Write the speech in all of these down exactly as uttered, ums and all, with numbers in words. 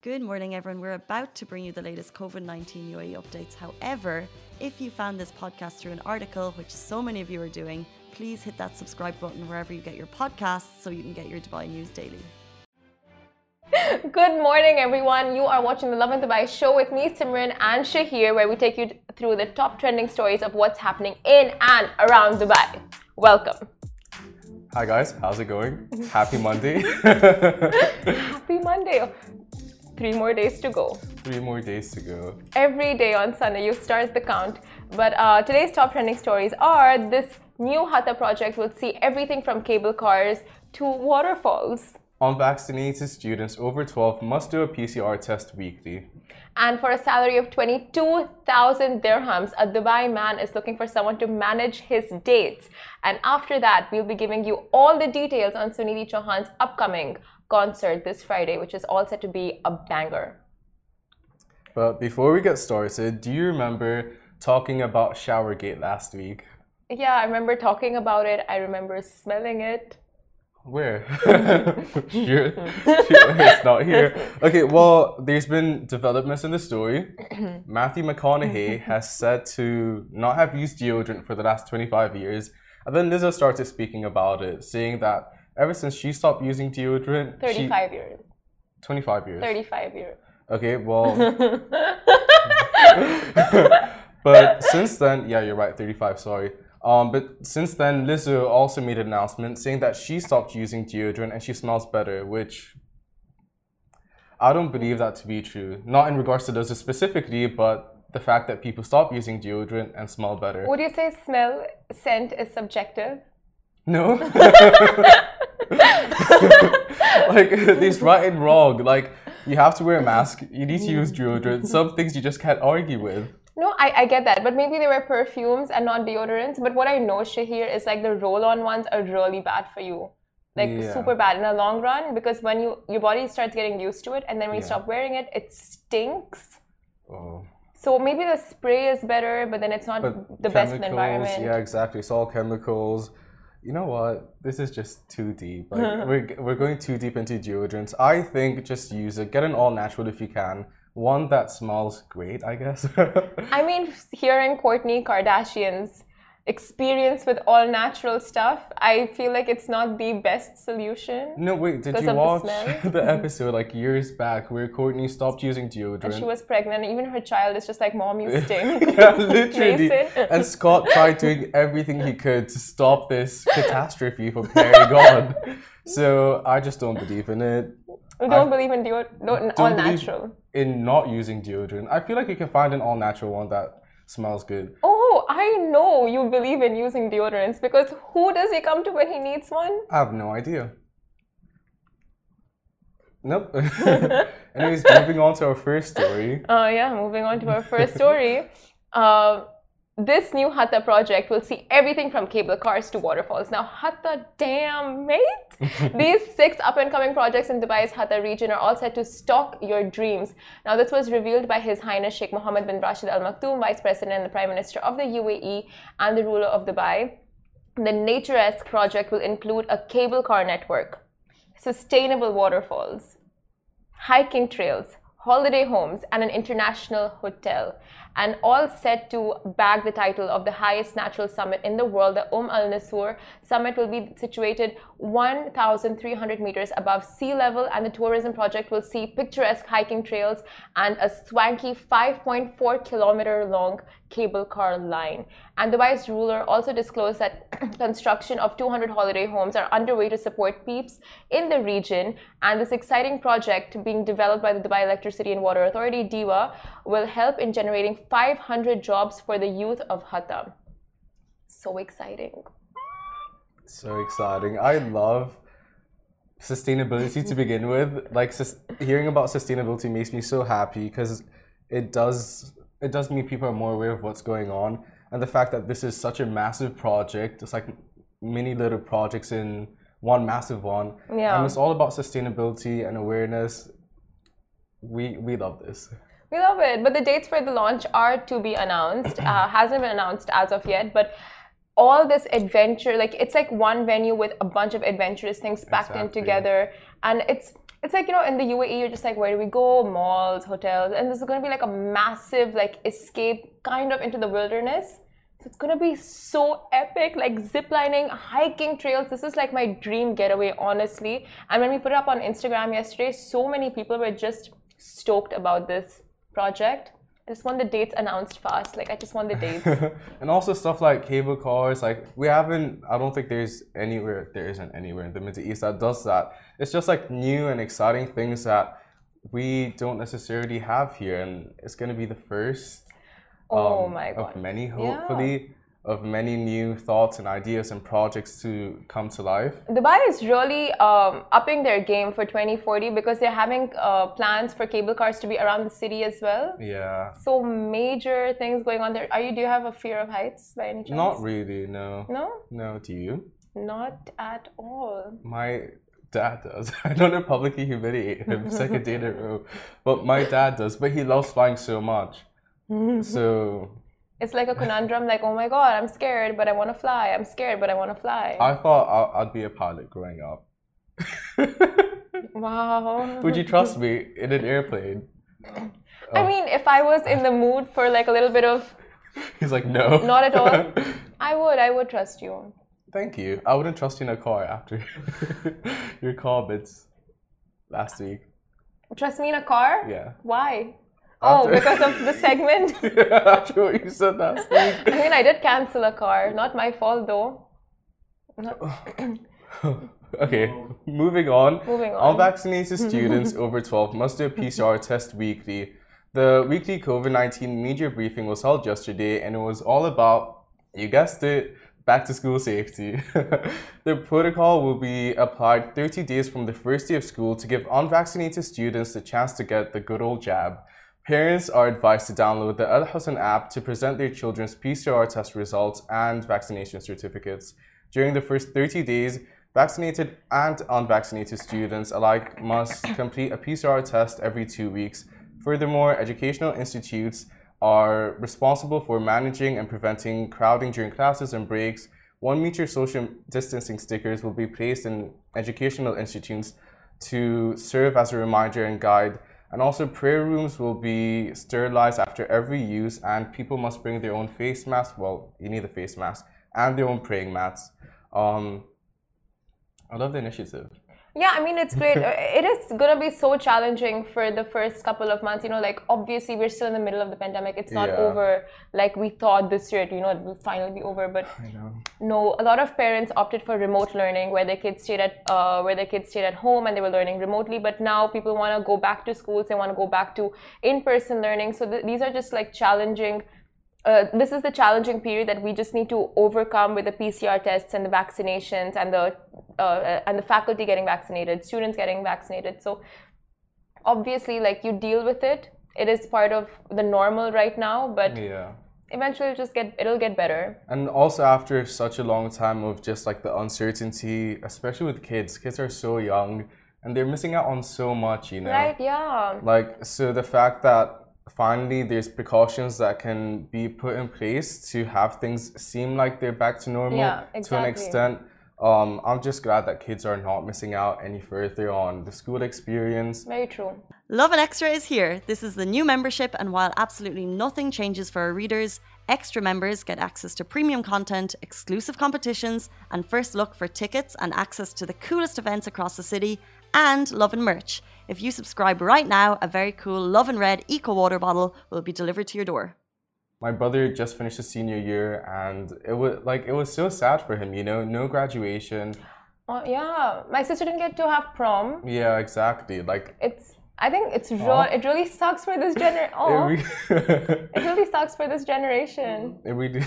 Good morning, everyone. We're about to bring you the latest COVID nineteen U A E updates. However, if you found this podcast through an article, which so many of you are doing, please hit that subscribe button wherever you get your podcasts so you can get your Dubai news daily. Good morning, everyone. You are watching the Lovin Dubai show with me, Simran and Shahir, where we take you through the top trending stories of what's happening in and around Dubai. Welcome. Hi guys, how's it going? Happy Monday. Happy Monday. Three more days to go. Three more days to go. Every day on Sunday, you start the count. But uh, today's top trending stories are this new Hatta project will see everything from cable cars to waterfalls. Unvaccinated students over twelve must do a P C R test weekly. And for a salary of twenty-two thousand dirhams, a Dubai man is looking for someone to manage his dates. And after that, we'll be giving you all the details on Sunidhi Chauhan's upcoming concert this Friday, which is all set to be a banger. But before we get started, do you remember talking about Showergate last week? Yeah, I remember talking about it. I remember smelling it. Where? Sure. It's not here. Okay, well, there's been developments in the story. Matthew McConaughey has said to not have used deodorant for the last twenty-five years. And then Lizzo started speaking about it, saying that ever since she stopped using deodorant... thirty-five she, years. twenty-five years. thirty-five years. Okay, well... But since then... Yeah, you're right, thirty-five, sorry. Um, but since then, Lizzo also made an announcement saying that she stopped using deodorant and she smells better, which I don't believe that to be true. Not in regards to Lizzo specifically, but the fact that people stop using deodorant and smell better. Would you say smell, scent is subjective? No. Like, there's right and wrong. Like, you have to wear a mask, you need to use deodorant. Some things you just can't argue with. No, I, I get that, but maybe they were perfumes and not deodorants. But what I know, Shahir, is like the roll-on ones are really bad for you. Like Yeah. super bad in the long run, because when you your body starts getting used to it, and then when you Yeah. stop wearing it, it stinks. Oh. So maybe the spray is better, but then it's not But the best for the chemicals, environment. yeah, exactly. It's all chemicals. You know what? This is just too deep. Like, we're we're going too deep into deodorants. I think just use it. Get an all natural if you can. One that smells great, I guess. I mean, hearing Kourtney Kardashian's experience with all natural stuff, I feel like it's not the best solution. No, wait. Did Because you of the watch smell? the episode like years back where Kourtney stopped using deodorant? And she was pregnant. Even her child is just like, Mom, you stink. Yeah, literally. Mason. And Scott tried doing everything he could to stop this catastrophe from carrying on. So I just don't believe in it. We don't I believe in deodorant, no, don't all believe natural. in not using deodorant. I feel like you can find an all natural one that smells good. Oh, I know you believe in using deodorants, because who does he come to when he needs one? I have no idea. Nope. Anyways, moving on to our first story. Uh, yeah, moving on to our first story. Uh, this new Hatta project will see everything from cable cars to waterfalls. Now, Hatta, damn, mate! These six up-and-coming projects in Dubai's Hatta region are all set to stalk your dreams. Now, this was revealed by His Highness Sheikh Mohammed bin Rashid Al Maktoum, Vice President and the Prime Minister of the U A E and the ruler of Dubai. The Naturesque project will include a cable car network, sustainable waterfalls, hiking trails, holiday homes, and an international hotel, and all set to bag the title of the highest natural summit in the world. The Umm Al Nasur summit will be situated one thousand three hundred meters above sea level, and the tourism project will see picturesque hiking trails and a swanky five point four kilometer long cable car line. And Dubai's ruler also disclosed that construction of two hundred holiday homes are underway to support peeps in the region, and this exciting project being developed by the Dubai Electricity and Water Authority, DEWA, will help in generating five hundred jobs for the youth of Hatta. So exciting. So exciting. I love sustainability to begin with. Like, sus- hearing about sustainability makes me so happy, because it does it does mean people are more aware of what's going on. And the fact that this is such a massive project, it's like many little projects in one massive one. Yeah. And it's all about sustainability and awareness. We we love this. We love it, but the dates for the launch are to be announced. Uh, hasn't been announced as of yet, but all this adventure, like it's like one venue with a bunch of adventurous things packed in Exactly. together, and it's it's like, you know, in the U A E, you're just like, where do we go? Malls, hotels. And this is going to be like a massive, like, escape kind of into the wilderness. So it's going to be so epic, like ziplining, hiking trails. This is like my dream getaway, honestly. And when we put it up on Instagram yesterday, so many people were just stoked about this project. I just want the dates announced fast. Like, I just want the dates. And also stuff like cable cars. Like, we haven't, I don't think there's anywhere, there isn't anywhere in the Middle East that does that. It's just like new and exciting things that we don't necessarily have here. And it's going to be the first oh um, my God. of many, hopefully. Yeah. Of many new thoughts and ideas and projects to come to life. Dubai is really um, upping their game for twenty forty because they're having uh, plans for cable cars to be around the city as well. Yeah. So major things going on there. Are you? Do you have a fear of heights by any chance? Not really, no. No? No, do you? Not at all. My dad does. I don't know publicly humiliate him second day in a row, but my dad does. But he loves flying so much. So... It's like a conundrum, like, oh my God, I'm scared, but I want to fly. I'm scared, but I want to fly. I thought I'd be a pilot growing up. Wow. Would you trust me in an airplane? I oh. mean, if I was in the mood for like a little bit of... He's like, no. Not at all. I would, I would trust you. Thank you. I wouldn't trust you in a car after your comments last week. Trust me in a car? Yeah. Why? Oh, because of the segment? Yeah, after what you said last week. I mean, I did cancel a car. Not my fault, though. Okay, moving on. Moving on. Unvaccinated students over twelve must do a P C R test weekly. The weekly COVID nineteen media briefing was held yesterday, and it was all about, you guessed it, back to school safety. The protocol will be applied thirty days from the first day of school to give unvaccinated students the chance to get the good old jab. Parents are advised to download the Al Husn app to present their children's P C R test results and vaccination certificates. During the first thirty days, vaccinated and unvaccinated students alike must complete a P C R test every two weeks. Furthermore, educational institutes are responsible for managing and preventing crowding during classes and breaks. One meter social distancing stickers will be placed in educational institutes to serve as a reminder and guide. And also, prayer rooms will be sterilized after every use, and people must bring their own face mask. Well, you need a face mask and their own praying mats. Um, I love the initiative. Yeah, I mean, it's great. It is going to be so challenging for the first couple of months. You know, like, obviously, we're still in the middle of the pandemic. It's not Yeah. over like we thought this year. You know, it will finally be over. But I know. no, a lot of parents opted for remote learning, where their kids stayed at uh, where their kids stayed at home and they were learning remotely. But now people want to go back to schools. They want to go back to in-person learning. So th these are just like challenging. Uh, this is the challenging period that we just need to overcome with the P C R tests and the vaccinations and the uh, and the faculty getting vaccinated, students getting vaccinated. So obviously, like, you deal with it. It is part of the normal right now, but Yeah. eventually it'll just get it'll get better. And also after such a long time of just like the uncertainty, especially with kids, kids are so young and they're missing out on so much, you know. Right? Yeah. Like, so the fact that finally there's precautions that can be put in place to have things seem like they're back to normal Yeah, exactly. to an extent. Um, I'm just glad that kids are not missing out any further on the school experience. Very true. Lovin Extra is here. This is the new membership, and while absolutely nothing changes for our readers, extra members get access to premium content, exclusive competitions, and first look for tickets and access to the coolest events across the city, and Lovin merch. If you subscribe right now, a very cool Lovin Red Eco Water bottle will be delivered to your door. My brother just finished his senior year, and it was like it was so sad for him, you know, no graduation. Oh yeah, my sister didn't get to have prom. Yeah, exactly. Like, It's I think it's real. It really sucks for this gener. Oh, it, re- it really sucks for this generation. it really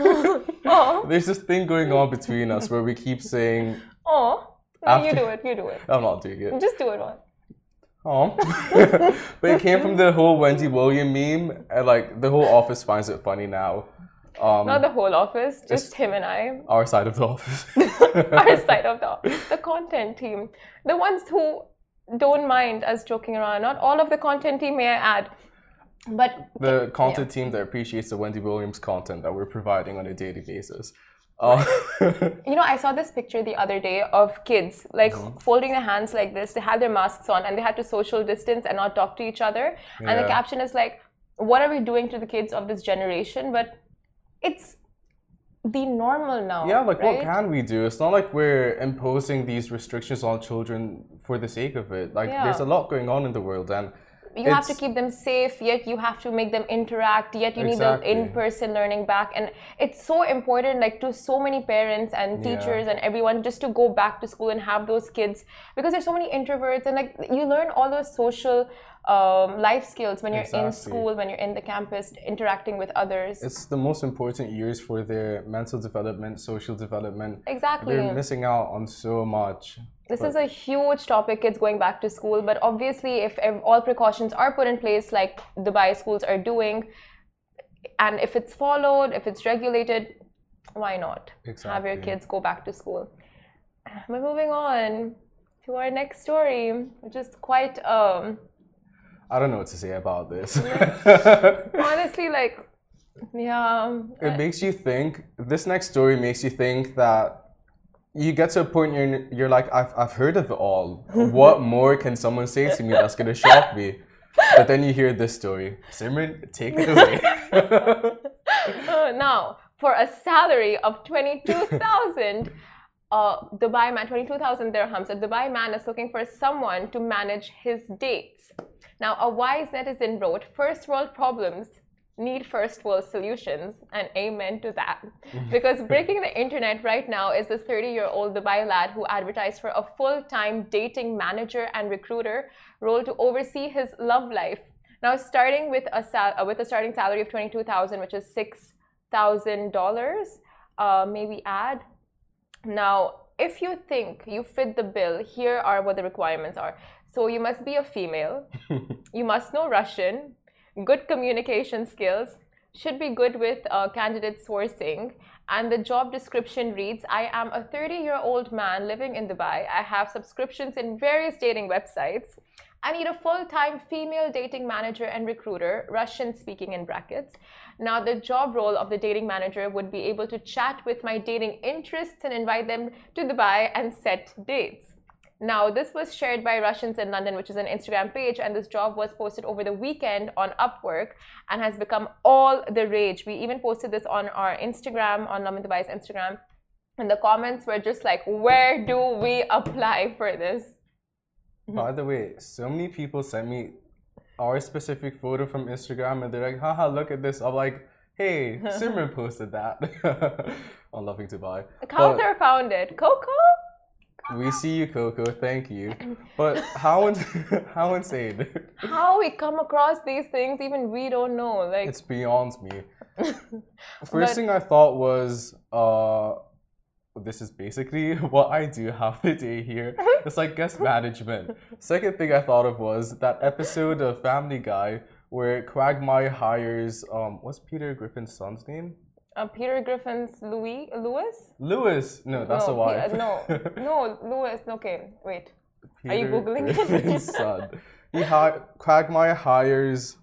Oh, There's this thing going on between us where we keep saying, oh. No, you After- do it. You do it. I'm not doing it. Just do it one. Oh, but it came from the whole Wendy William meme, and like the whole office finds it funny now. Um, Not the whole office, just him and I. our side of the office. Our side of the the content team, the ones who don't mind us joking around. Not all of the content team, may I add, but The content team that appreciates the Wendy Williams content that we're providing on a daily basis. Oh. You know, I saw this picture the other day of kids like mm-hmm. folding their hands like this. They had their masks on and they had to social distance and not talk to each other. Yeah. And the caption is like, what are we doing to the kids of this generation? But it's the normal now. Yeah, like right? what can we do? It's not like we're imposing these restrictions on children for the sake of it. Like yeah. there's a lot going on in the world, and you have to keep them safe, yet you have to make them interact, yet you exactly. need the in-person learning back. And it's so important, like to so many parents and teachers yeah. and everyone, just to go back to school and have those kids, because there's so many introverts, and like you learn all those social um, life skills when you're exactly. in school, when you're in the campus, interacting with others. It's the most important years for their mental development, social development. Exactly. They're missing out on so much. This but. is a huge topic, kids going back to school, but obviously if all precautions are put in place like Dubai schools are doing, and if it's followed, if it's regulated, why not? Exactly. Have your kids go back to school. But moving on to our next story, which is quite... Um, I don't know what to say about this. Honestly, like, yeah. It makes you think, this next story makes you think that you get to a point you're, you're like, I've, I've heard of it all. What more can someone say to me that's going to shock me? But then you hear this story. Simran, take it away. uh, now, for a salary of twenty-two thousand, uh, Dubai man, twenty-two thousand dirhams, a Dubai man is looking for someone to manage his dates. Now, a wise netizen wrote, first world problems need first world solutions, and amen to that. Because breaking the internet right now is this thirty-year-old Dubai lad who advertised for a full-time dating manager and recruiter role to oversee his love life. Now, starting with a sal uh, with a starting salary of twenty-two thousand, which is six thousand dollars, uh, maybe add. Now, if you think you fit the bill, here are what the requirements are. So you must be a female, you must know Russian, good communication skills, should be good with uh, candidate sourcing, and the job description reads, I am a thirty-year-old man living in Dubai. I have subscriptions in various dating websites. I need a full-time female dating manager and recruiter, Russian speaking in brackets. Now, the job role of the dating manager would be able to chat with my dating interests and invite them to Dubai and set dates. Now, this was shared by Russians in London, which is an Instagram page, and this job was posted over the weekend on Upwork and has become all the rage. We even posted this on our Instagram, on Lovin Dubai's Instagram, and the comments were just like, where do we apply for this? By the way, so many people sent me our specific photo from Instagram, and they're like, haha, look at this. I'm like, hey, Simran posted that on Lovin Dubai. Kauthar found it. Coco? We see you, Coco. Thank you. But how in how insane? How we come across these things, even we don't know. Like it's beyond me. First but, thing I thought was, uh, this is basically what I do half the day here. It's like guest management. Second thing I thought of was that episode of Family Guy where Quagmire hires um, what's Peter Griffin's son's name? Uh, Peter Griffin's Louis Lewis? Lewis. No, that's no, a wife. P no, no, Lewis. Okay, wait. Peter Are you googling Griffin's it? son. He hi Quagmire hires.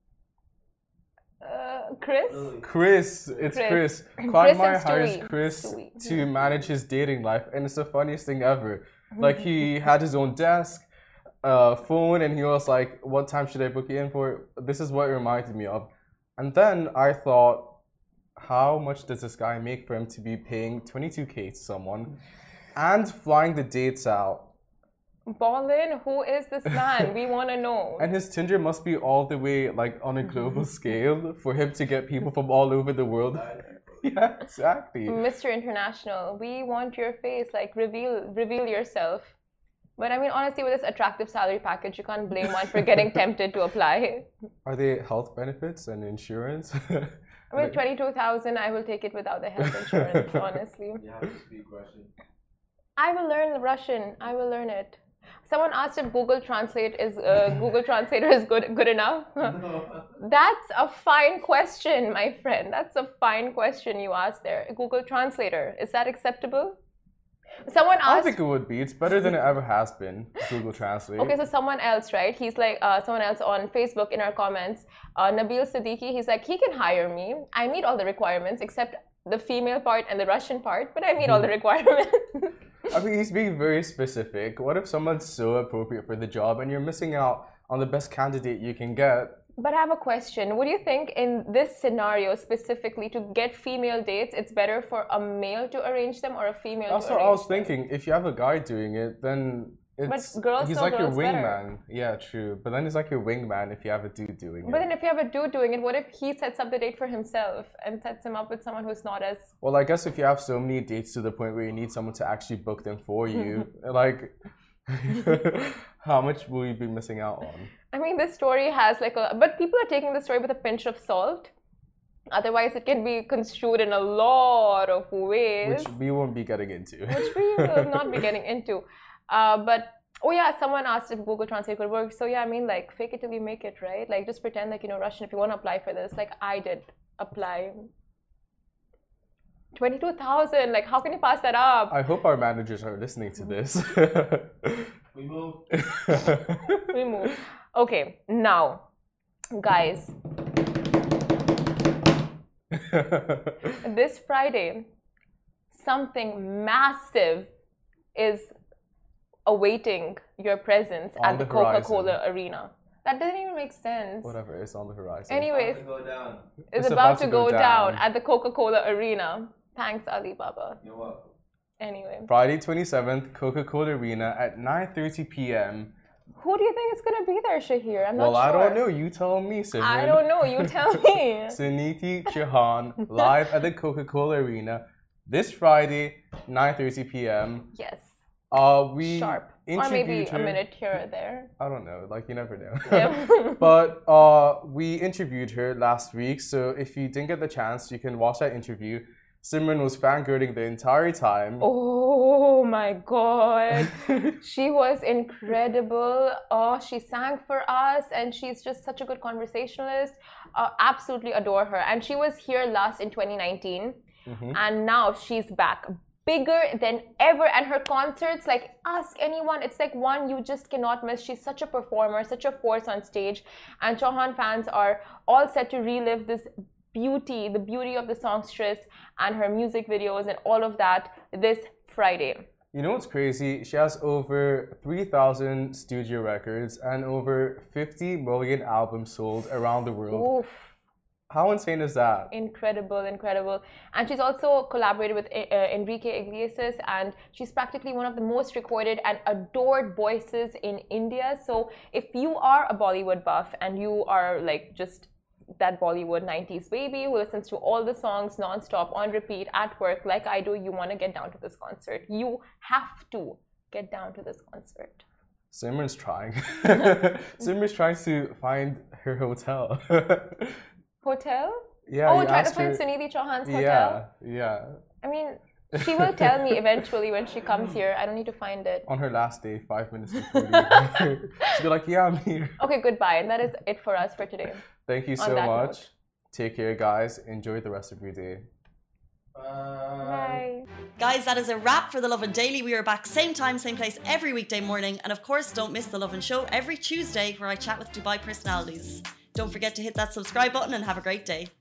Uh, Chris. Chris. It's Chris. Chris. Quagmire Chris hires Stewie. Chris Stewie. to manage his dating life, and it's the funniest thing ever. Like he had his own desk, uh, phone, and he was like, "What time should I book you in for?" This is what it reminded me of. And then I thought, how much does this guy make for him to be paying twenty-two K to someone and flying the dates out? Ballin, who is this man? We want to know. And his Tinder must be all the way like on a global scale for him to get people from all over the world. Yeah, exactly. Mister International, we want your face. Like reveal, reveal yourself. But I mean, honestly, with this attractive salary package, you can't blame one for getting tempted to apply. Are they health benefits and insurance? With twenty-two thousand, I will take it without the health insurance, honestly. You have to speak Russian. I will learn Russian. I will learn it. Someone asked if Google Translate is uh, Google Translator is good good enough. No. That's a fine question, my friend. That's a fine question you asked there. Google Translator, is that acceptable? Someone asked. I think it would be. It's better than it ever has been. Google Translate. Okay, so someone else, right? He's like, uh, someone else on Facebook in our comments, uh, Nabil Siddiqui. He's like, he can hire me. I meet all the requirements except the female part and the Russian part, but I meet all the requirements. I mean, he's being very specific. What if someone's so appropriate for the job and you're missing out on the best candidate you can get? But I have a question. What do you think in this scenario specifically, to get female dates, it's better for a male to arrange them or a female That's to what arrange I was thinking. If you have a guy doing it, then it's But girls he's know like your girls better. wingman. Yeah, true. But then he's like your wingman if you have a dude doing But it. then if you have a dude doing it, what if he sets up the date for himself and sets him up with someone who's not as... Well, I guess if you have so many dates to the point where you need someone to actually book them for you, like, how much will you be missing out on? I mean, this story has like a... But people are taking the story with a pinch of salt. Otherwise, it can be construed in a lot of ways. Which we won't be getting into. Which we will not be getting into. Uh, but, oh yeah, someone asked if Google Translate could work. So yeah, I mean, like, fake it till you make it, right? Like, just pretend like you know Russian if you want to apply for this. Like, I did apply. twenty-two thousand, like, how can you pass that up? I hope our managers are listening to this. We move. We move. Okay, now, guys, this Friday, something massive is awaiting your presence On at the the Coca-Cola horizon. Arena. That doesn't even make sense. Whatever is on the horizon. Anyways, About to go down. it's, about, to go, down. at the Coca-Cola Arena. Thanks, Alibaba. You're welcome. Anyway, Friday twenty-seventh, Coca-Cola Arena at nine thirty p m who do you think is gonna be there, Shahir? I'm Well, not sure. I don't know. You tell me, Simran. I don't know. You tell me. Suniti Chauhan live at the Coca-Cola Arena this Friday, nine thirty p m Yes. Uh, we Sharp. Or interviewed maybe a her. minute here or there. I don't know. Like you never know. Yeah. But uh, we interviewed her last week, so if you didn't get the chance, you can watch that interview. Simran was fangirling the entire time. Oh my god. She was incredible. Oh, she sang for us and she's just such a good conversationalist. Uh, absolutely adore her. And she was here last in twenty nineteen. Mhm. And now she's back. Bigger than ever. And her concerts, like, ask anyone. It's like one you just cannot miss. She's such a performer, such a force on stage. And Chauhan fans are all set to relive this beauty, the beauty of the songstress and her music videos and all of that this Friday. You know what's crazy? She has over three thousand studio records and over fifty million albums sold around the world. Oof. How insane is that? Incredible, incredible. And she's also collaborated with uh, Enrique Iglesias, and she's practically one of the most recorded and adored voices in India. So if you are a Bollywood buff and you are like just that Bollywood nineties baby who listens to all the songs non-stop on repeat at work like I do, you want to get down to this concert. You have to get down to this concert. Simran's trying. Simran's trying to find her hotel. Hotel? Yeah. Oh, you try to asked find her- Sunidhi Chauhan's hotel? Yeah, yeah. I mean, she will tell me eventually when she comes here. I don't need to find it. On her last day, five minutes before leaving. She'll be like, yeah, I'm here. Okay, goodbye. And that is it for us for today. Thank you On so that much. note. Take care, guys. Enjoy the rest of your day. Bye. Bye. Guys, that is a wrap for The Lovin Daily. We are back same time, same place every weekday morning. And of course, don't miss The Lovin Show every Tuesday where I chat with Dubai personalities. Don't forget to hit that subscribe button and have a great day.